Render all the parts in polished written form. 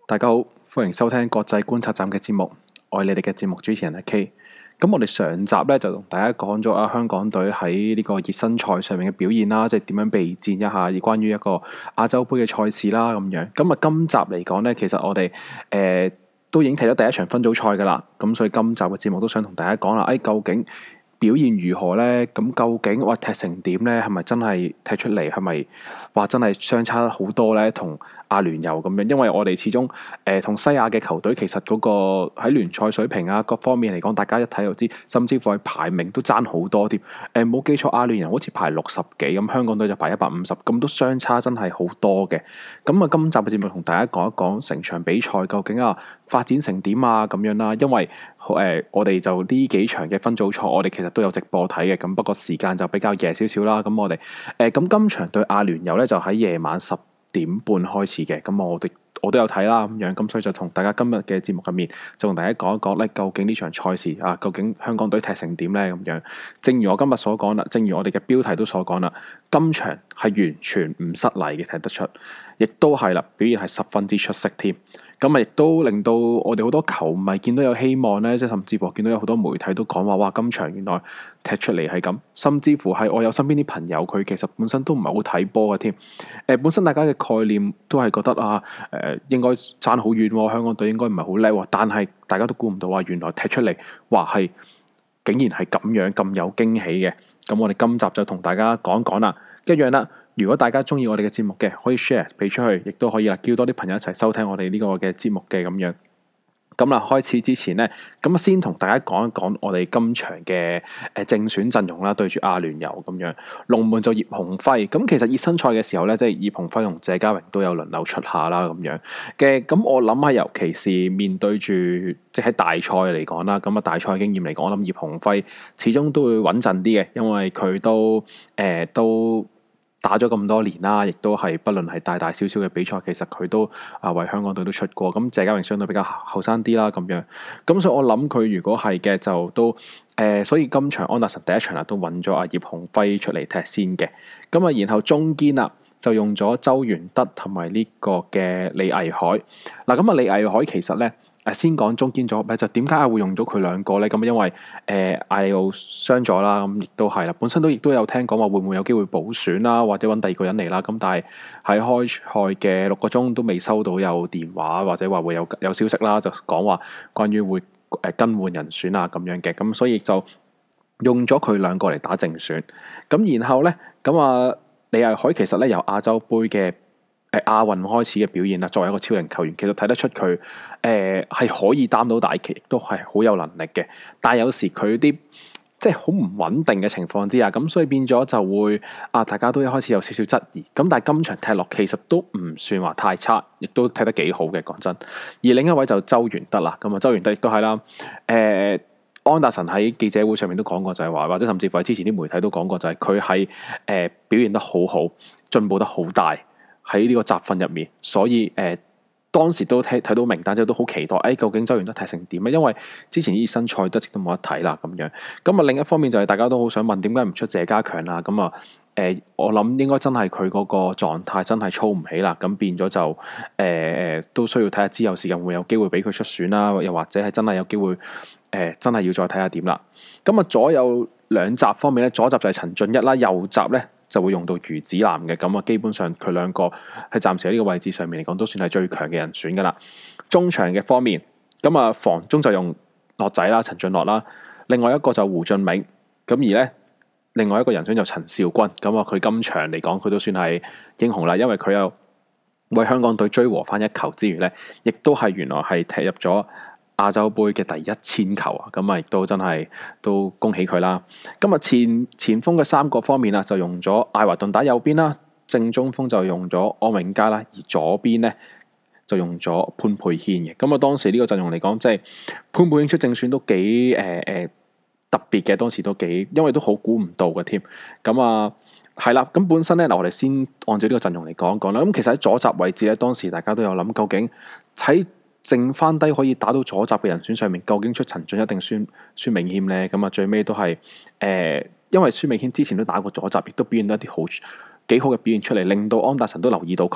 大家好，歡迎收聽國際觀察站嘅節目，我係你哋嘅節目主持人阿 K。咁我哋上集咧就同大家講咗香港隊喺呢個熱身賽上面嘅表現啦，即係點樣備戰一下關於一個亞洲盃嘅賽事啦咁樣。咁啊，今集嚟講咧，其實我哋都已經踢咗第一場分組賽噶啦，咁所以今集嘅節目都想同大家講啦，究竟表現如何呢？咁究竟踢成點呢？係咪真係踢出嚟？係咪話真係相差好多呢？同阿聯酋咁樣，因為我哋始終同西亞嘅球隊其實嗰個喺聯賽水平啊各方面嚟講，大家一睇就知，甚至乎係排名都爭好多添。冇記錯，阿聯酋好似排60幾，咁香港隊就排150，咁都相差真係好多嘅。咁啊，今集嘅節目同大家講一講成場比賽究竟發展成點啊咁樣啦，因為我哋就呢幾場嘅分組賽，我哋其實都有直播睇嘅，咁不過時間就比較夜少少啦。咁我哋咁今場對阿聯酋咧就喺夜晚10點半開始嘅，咁我都有睇啦咁樣，咁所以就同大家今日嘅節目入面就同大家講一講咧，究竟呢場賽事究竟香港隊踢成點咧咁樣。正如我今日所講啦，正如我哋嘅標題都所講啦，今場係完全唔失禮嘅，睇得出，亦都係啦，表現係十分之出色添。咁啊，亦都令到我哋好多球迷見到有希望咧，即係甚至乎見到有好多媒體都講話，哇！今場原來踢出嚟係咁，甚至乎係我有身邊啲朋友，佢其實本身都唔係好睇波嘅添。本身大家嘅概念都係覺得應該爭好遠喎，香港隊應該唔係好叻喎，但係大家都估唔到話原來踢出嚟，哇係竟然係咁樣咁有驚喜嘅。咁我哋今集就同大家講一講啦，一樣啦。如果大家中意我哋嘅節目嘅，可以 share 俾出去，亦都可以叫多啲朋友一齊收聽我哋呢個嘅節目嘅咁樣。咁啦，開始之前呢，咁先同大家講一講我哋今場嘅正選陣容啦，對住阿聯酋咁樣。龍門就葉鴻輝，咁其實熱身賽嘅時候咧，即係葉鴻輝同謝家榮都有輪流出下啦咁樣嘅。咁我諗下，尤其是面對住即係喺大賽嚟講啦，咁大賽經驗嚟講，我諗葉鴻輝始終都會穩陣啲嘅，因為佢都打咗咁多年啦，亦都係不論係大大小小嘅比賽，其實佢都為香港隊都出過。咁謝家榮相對比較後生啲啦，咁樣。咁所以我諗佢如果係嘅就都所以今場安達臣第一場都揾咗葉鴻輝出嚟踢先嘅。咁啊，然後中堅啦就用咗周元德同埋呢個嘅李毅海。嗱，咁李毅海其實咧。先講中堅組合，就點解會用到佢兩個咧？咁因為艾利奧傷咗啦，咁亦都係啦。本身亦都有聽講話會唔會有機會補選啦，或者揾第二個人嚟啦。咁但係喺開賽嘅6個鐘都未收到有電話或者話會有消息啦，就講話關於會更換人選啊咁樣嘅。咁所以就用咗佢兩個嚟打正選。咁然後咧，李毅海其實咧由亞洲盃嘅亞運開始嘅表現啦，作為一個超齡球員，其實睇得出佢係可以擔到大旗，亦都係好有能力嘅。但係有時佢啲即係好唔穩定嘅情況之下，咁所以變咗就會大家都一開始有少少質疑。咁但係今場踢落其實都唔算話太差，亦都踢得幾好嘅，講真。而另一位就周元德啦，咁啊周元德亦都係啦。安達臣喺記者會上面都講過，就係話，或者甚至乎喺之前啲媒體都講過，就係佢係表現得好好，進步得好大。喺呢個集訓入面，所以當時都睇到名單之後都好期待，究竟周元德踢成點咧？因為之前熱身賽一直都冇得睇啦咁樣。咁另一方面就係大家都好想問，點解唔出謝家強啦？咁我諗應該真係佢嗰個狀態真係操唔起啦。咁變咗就都需要睇下之後時間會有機會俾佢出選啦，又或者係真係有機會真係要再睇下點啦。咁左右兩閘方面咧，左閘就係陳俊一啦，右閘咧就會用到余子南嘅。咁基本上佢兩個係暫時喺呢個位置上面嚟講都算係最強嘅人選噶啦。中場嘅方面，防中就用樂仔啦，陳俊樂啦，另外一個就胡俊銘。咁而咧另外一個人選就陳肇鈞。佢今場嚟講佢都算係英雄啦，因為佢有為香港隊追和翻一球之餘咧，亦都係原來係踢入咗亞洲盃嘅第1000球啊！亦都真係都恭喜佢啦。前鋒嘅3個方面就用咗艾華頓打右邊啦，正中鋒就用咗安永佳啦，而左邊咧就用咗潘佩軒嘅。當時呢個陣容嚟講，即係潘佩軒出正選都幾特別嘅，當時都幾，因為都好估唔到嘅添。係啦，咁本身咧我哋先按照呢個陣容嚟講一講啦。咁其實喺左閘位置咧，當時大家都有諗，究竟喺剩翻低可以打到左閘嘅人選上面，究竟出陳俊一定孫銘謙咧？最尾都係因為孫銘謙之前都打過左閘，亦都表現得一啲幾好嘅表現出嚟，令到安達臣都留意到佢。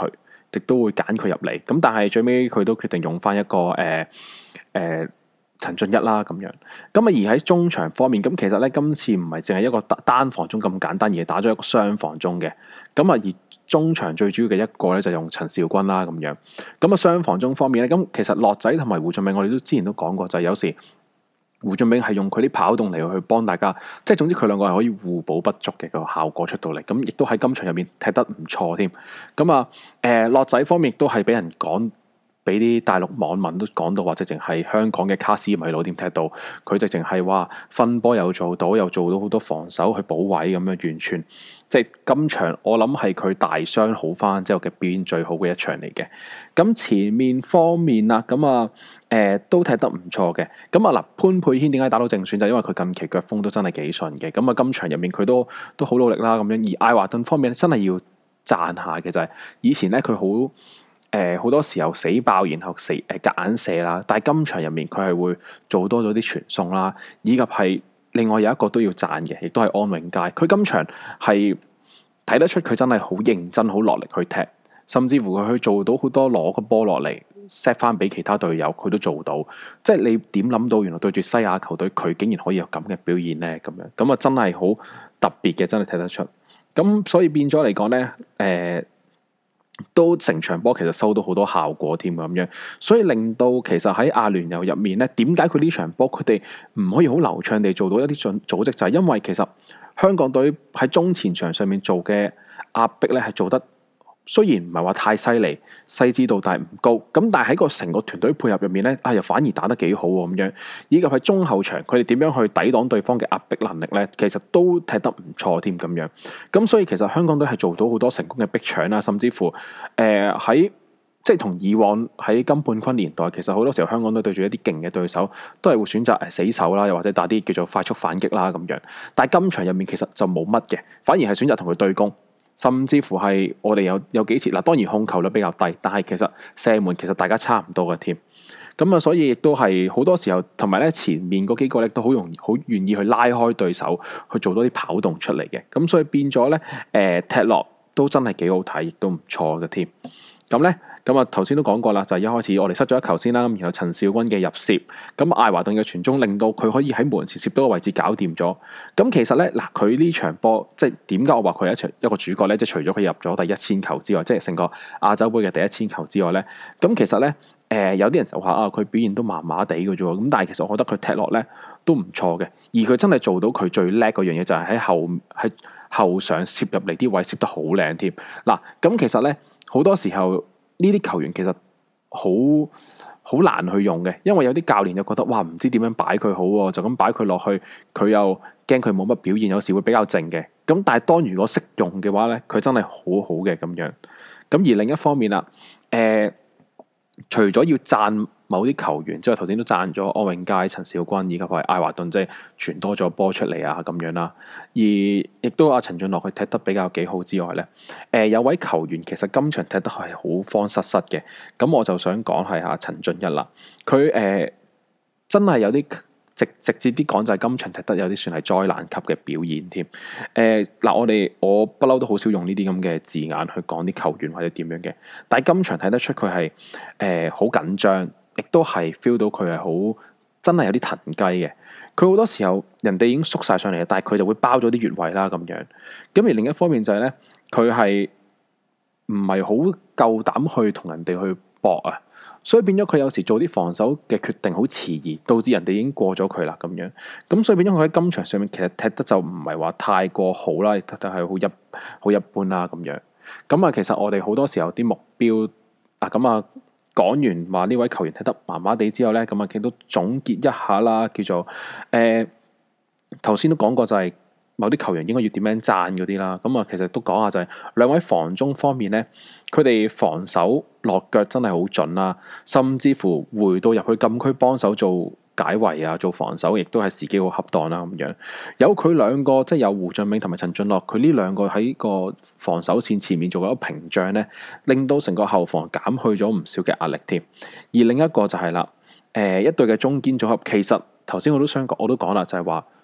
亦都會揀佢入嚟。咁但係最尾佢都決定用翻一個陳俊一啦咁樣。咁啊而喺中場方面，咁其實咧今次唔係淨係一個單防中咁簡單，而係打咗一個雙防中嘅。咁啊而中場最主要嘅一個咧就用陳肇鈞啦咁樣。咁啊雙防中方面咧，咁其實樂仔同埋胡俊銘我哋都之前都講過，就係有時胡俊銘係用佢啲跑動嚟去幫大家，即係總之佢兩個係可以互補不足嘅個效果出到嚟。咁亦都喺今場入面踢得唔錯添。咁啊樂仔方面亦都係俾人講。俾啲大陸網民都講到話，直情係香港嘅卡斯米魯點踢到，佢直情係話分波又做到好多防守去補位咁樣，完全即係今場我諗係佢大傷好翻之後嘅表現最好嘅一場嚟嘅。咁前面方面啦，咁啊都踢得唔錯嘅。咁啊嗱，潘佩軒點解打到正選？就因為佢近期腳風都真係幾順嘅。咁啊今場入面佢都好努力啦咁樣。而艾華頓方面真係要讚下嘅就係以前咧佢好多時候死爆，然後夾硬射啦。但係今場入面佢係會做多咗啲傳送啦，以及係另外有一個都要讚嘅，亦都係安永佳。佢今場係睇得出佢真係好認真、好落力去踢，甚至乎佢去做到好多攞個波落嚟 set 翻俾其他隊友，佢都做到。即係你點諗到原來對住西亞球隊，佢竟然可以有咁嘅表現呢？咁樣咁啊，真係好特別嘅，真係睇得出。咁所以變咗嚟講呢，都成場波其實收到好多效果添咁樣，所以令到其實喺阿聯酋入面咧，點解佢呢場波佢哋唔可以好流暢地做到一啲組織？就係因為其實香港隊喺中前場上面做嘅壓迫咧係做得雖然唔係話太犀利，細緻度但係唔高，咁但係喺個成個團隊配合入面咧，又反而打得幾好喎咁樣，以及喺中後場佢哋點樣去抵擋對方嘅壓迫能力咧，其實都踢得唔錯添咁樣。咁所以其實香港隊係做到好多成功嘅逼搶啦，甚至乎喺即係同以往喺金判坤年代，其實好多時候香港隊對住一啲勁嘅對手，都係會選擇死守啦，又或者打啲叫做快速反擊啦咁樣。但係今場入面其實就冇乜嘅，反而係選擇同佢對攻。甚至乎係我哋有幾次嗱，當然控球率比較低，但係其實射門其實大家差唔多嘅添。咁啊，所以亦都係好多時候，同埋咧前面嗰幾個咧都好願意去拉開對手，去做多啲跑動出嚟嘅。咁所以變咗咧，踢落都真係幾好睇，亦都唔錯嘅添。咁咧。咁啊，頭先都講過啦，就係一開始我哋失咗一球先啦，咁然後陳肇鈞嘅入攝，咁艾華頓嘅傳中令到佢可以喺門前攝到個位置搞掂咗。咁其實咧，嗱佢呢場波即係點解我話佢係一個主角咧？即係除咗佢入咗第1000球之外，即係成個亞洲杯嘅第1000球之外咧，咁其實咧，有啲人就話啊，佢表現都麻麻地嘅啫喎。咁但係其實我覺得佢踢落咧都唔錯嘅，而佢真係做到佢最叻嗰樣嘢，就係喺後上攝入嚟啲位攝得好靚添。嗱，咁其實咧好多時候。呢啲球員其實好難去用嘅，因為有啲教練就覺得哇，唔知點樣擺佢好喎，就咁擺佢落去，佢又驚佢冇乜表現，有時會比較靜嘅。咁但係當如果識用嘅話咧，佢真係好好嘅咁樣。咁而另一方面啦，除咗要讚某啲球員之外，頭先都讚咗安永佳、陳肇鈞以及係艾華頓，即係傳多咗波出嚟啊咁樣啦。而亦都阿陳俊樂佢踢得比較幾好之外咧，有位球員其實今場踢得係好慌失失嘅。咁我就想講係阿陳俊一啦，佢真係有啲直接啲講就係今場踢得有啲算係災難級嘅表現添。嗱，我不嬲都好少用呢啲咁嘅字眼去講啲球員或者點樣嘅，但係今場睇得出佢係好緊張。亦都係 feel 到佢係好真係有啲騰雞嘅，佢好多時候人哋已經縮晒上嚟，但係佢就會包咗啲越位啦咁樣。咁而另一方面就係咧，佢係唔係好夠膽去同人哋去搏啊，所以變咗佢有時做啲防守嘅決定好遲疑，導致人哋已經過咗佢啦咁樣。咁所以變咗佢喺今場上面其實踢得就唔係話太過好啦，踢得係好一般啦咁樣。咁啊，其實我哋好多時候啲目標啊咁啊。講完話呢位球員踢得麻麻地之後咧，咁啊，亦都總結一下啦，叫做頭先都講過就係某啲球員應該要點樣讚嗰啲啦。咁啊，其實都講下就係兩位防中方面咧，佢哋防守落腳真係好準啦，甚至乎回到入去禁區幫手做解圍啊，做防守亦都係時機好恰當啦咁樣。有佢兩個，即係有胡俊銘同埋陳俊樂，佢呢兩個喺個防守線前面做咗屏障咧，令到成個後防減去咗唔少嘅壓力添。而另一個就係啦，一隊嘅中堅組合，其實頭先我都講啦，就係話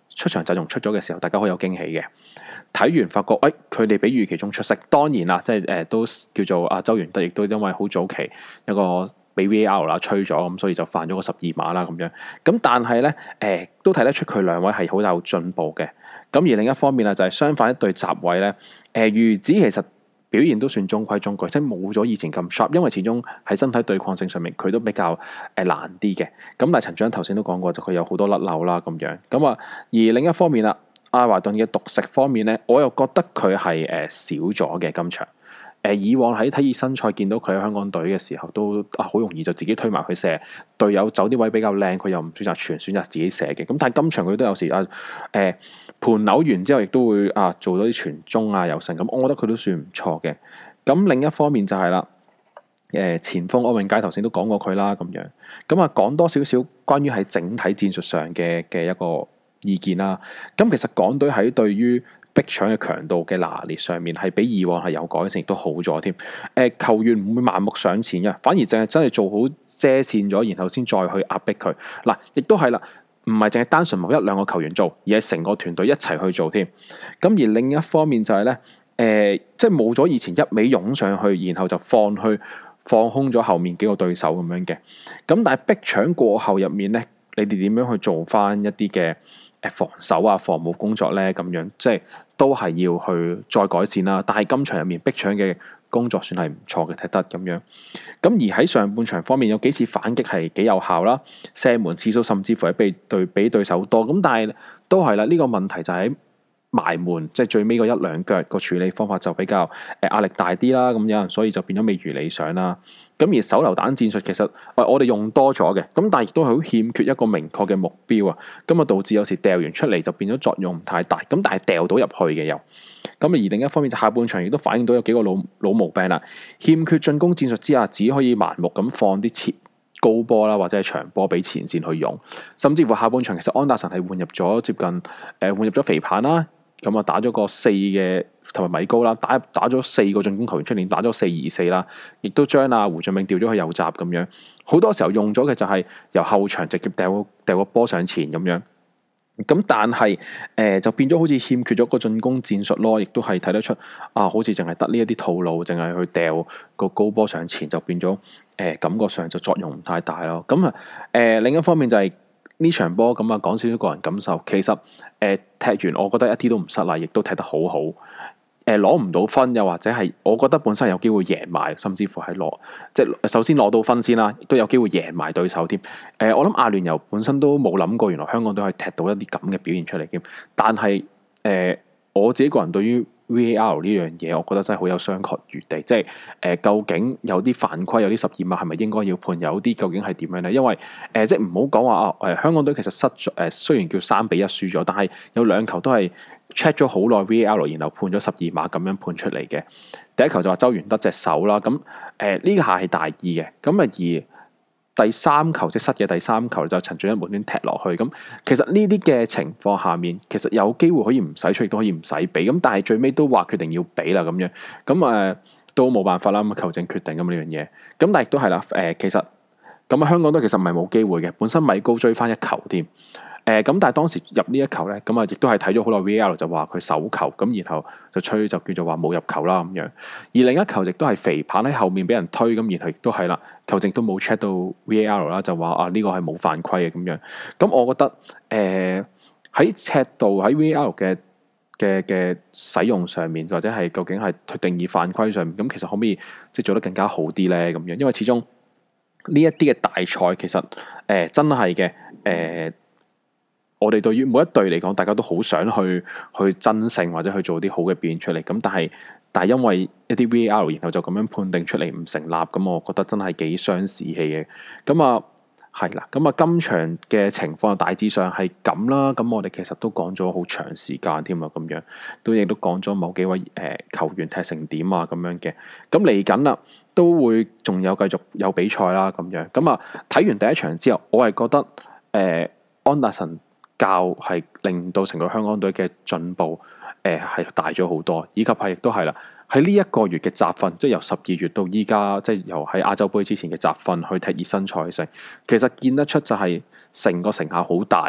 出場陣容出咗嘅時候，大家好有驚喜嘅。睇完發覺，佢哋比預期中出色。當然啦，即係都叫做阿周元德，亦都因為好早期一個俾 VAR 啦吹咗，咁所以就犯咗個12碼啦咁樣。咁但係咧，都睇得出佢兩位係好有進步嘅。咁而另一方面啊，就係相反一對閘位咧，魚子其實表現都算中規中矩，即係冇咗以前咁 sharp，因為始終喺身體對抗性上面佢都比較難啲嘅。咁但係陳章頭先都講過，就佢有好多甩漏啦咁樣。咁啊，而另一方面啦，阿華頓嘅獨食方面咧，我又覺得佢係少咗嘅今場。以往喺睇熱身賽見到佢喺香港隊嘅時候，都好容易就自己推埋佢射，隊友走啲位比較靚，佢又唔選擇傳，選擇自己射嘅。咁但係今場佢都有時盤扭完之後，亦都會做咗啲傳中又成。咁我覺得佢都算唔錯嘅。咁另一方面就係啦，前鋒柯永佳頭先都講過佢啦咁樣。咁講多少少關於喺整體戰術上嘅一個意見啦。咁其實港隊喺對於逼搶嘅強度嘅拿捏上面係比以往係有改善，亦都好咗添。球員唔會盲目上前嘅，反而淨係真係做好遮線咗，然後先再去壓迫佢。嗱，亦都係啦，唔係淨係單純某一兩個球員做，而係成個團隊一齊去做添。咁而另一方面就係咧，即係冇咗以前一味湧上去，然後就放空咗後面幾個對手咁樣嘅。咁但係逼搶過後入面咧，你哋點樣去做翻一啲嘅防守防務工作咧？咁樣即係都係要去再改善啦。但係今場入面逼搶嘅工作算係唔錯嘅，踢得咁樣。咁而喺上半場方面有幾次反擊係幾有效啦，射門次數甚至乎係比對手多。咁但係都係啦，呢個問題就喺埋門，即係最尾嗰一兩腳個處理方法就比較壓力大啲啦。咁有人所以就變咗未如理想啦。咁而手榴彈戰術其實我哋用多咗嘅，咁但係亦都係好欠缺一個明確嘅目標啊。咁導致有時掉完出嚟就變咗作用唔太大。咁但係掉到入去嘅又咁。而另一方面就下半場亦都反映到有幾個老毛病啦。欠缺進攻戰術之下，只可以盲目咁放啲高波啦，或者係長波俾前線去用。甚至乎下半場其實安達臣係換入咗接近換入咗肥棒啦。咁打咗個4嘅同埋米高啦，打咗4個進攻球員出嚟，打咗4-2-4啦，亦都將胡俊明調咗去右閘咁樣。好多時候用咗嘅就係由後場直接掉個波上前咁樣。咁但係就變咗好似欠缺咗個進攻戰術咯，亦都係睇得出好似淨係得呢一啲套路，淨係去掉個高波上前，就變咗感覺上就作用唔太大咯。咁另一方面就係呢場波咁講少少個人感受，其實踢完我覺得一啲都唔失禮，亦都踢得好好。攞唔到分，又或者係我覺得本身有機會贏埋，甚至乎係即係首先攞到分先啦，亦都有機會贏埋對手添。我諗阿聯酋本身都冇諗過，原來香港都可以踢到一啲咁嘅表現出嚟嘅。但係我自己個人對於 VAR 呢樣嘢，我覺得真係好有商榷餘地。即係究竟有啲犯規，有啲12碼係咪應該要判？有啲究竟係點樣咧？因為即係唔好講話香港隊其實失咗雖然叫3-1輸咗，但係有2球都係 check 咗好耐 VAR， 然後判咗12碼咁樣判出嚟嘅。第一球就話周元德隻手啦，咁呢下係大意嘅。咁而第3球即係失嘅第3球就陳俊一無端踢落去。咁其實呢啲嘅情況下面，其實有機會可以唔使出，亦都可以唔使俾。咁但係最尾都話決定要俾啦咁樣。咁都冇辦法啦。咁球證決定咁呢樣嘢。咁但係亦都係啦。其實咁香港都其實唔係冇機會嘅。本身米高追翻1球添。咁但係當時入呢一球咧，咁亦都係睇咗好耐 VAR 就話佢手球，咁然後就吹就叫做話冇入球啦咁樣。而另一球亦都係肥棒喺後面俾人推，咁然後亦都係啦，球證都冇 check 到 VAR 啦，就話呢個係冇犯規嘅咁樣。咁我覺得喺尺度喺 VAR 嘅使用上面，或者係究竟係定義犯規上面，咁其實可唔可以即係做得更加好啲咧？咁樣，因為始終呢一啲嘅大賽其實真係嘅我哋對於每一隊嚟講，大家都好想去爭勝或者去做啲好嘅表現出嚟。咁但係因為一啲 VAR， 然後就咁樣判定出嚟唔成立，咁我覺得真係幾傷士氣嘅。咁係啦，咁今場嘅情況大致上係咁啦。咁我哋其實都講咗好長時間添啊，咁樣亦都講咗某幾位球員踢成點咁樣嘅。咁嚟緊啦，都會仲有繼續有比賽啦，咁樣。睇完第一場之後，我係覺得安達臣教係令到成個香港隊嘅進步係大咗好多，以及亦都係啦，喺呢一個月嘅集訓，即係由12月到依家，即係由喺亞洲杯之前嘅集訓去踢熱身賽，其實見得出就係成個成效好大嘅。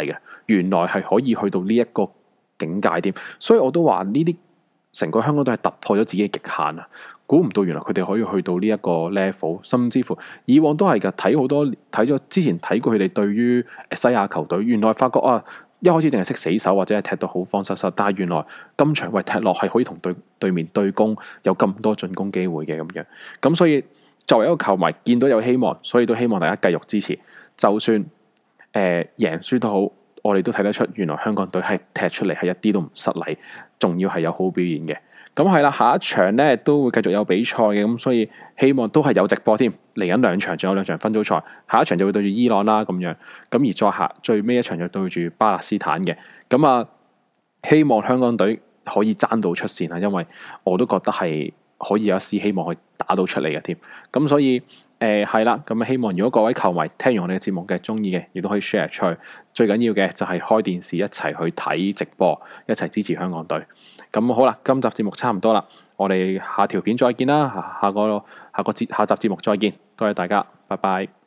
原來係可以去到呢一個境界添，所以我都話呢啲成個香港都係突破咗自己嘅極限啊！估唔到原來佢哋可以去到呢一個 level，甚至乎以往都係㗎，睇好多睇咗之前睇過佢哋對於西亞球隊，原來發覺啊，一開始淨係識死守或者係踢到好慌失失，但係原來今場為踢落係可以同對面對攻，有咁多進攻機會嘅咁樣，咁所以作為一個球迷見到有希望，所以都希望大家繼續支持，就算贏輸都好。我哋都睇得出，原來香港隊係踢出嚟係一啲都唔失禮，仲要係有好表現嘅。咁係啦，下一場呢都會繼續有比賽嘅，咁所以希望都係有直播添。嚟緊兩場，仲有兩場分組賽，下一場就會對住伊朗啦咁樣。咁而再下最尾一場就對住巴勒斯坦嘅。咁啊，希望香港隊可以爭到出線啊，因為我都覺得係可以有一絲希望去打到出嚟嘅添。咁所以係啦，咁希望如果各位球迷聽完我哋嘅節目嘅中意嘅，亦都可以 share 出去。最緊要嘅就係開電視一齊去睇直播，一齊支持香港隊。咁好啦，今集節目差唔多啦，我哋下條片再見啦，下集節目再見，多謝大家，拜拜。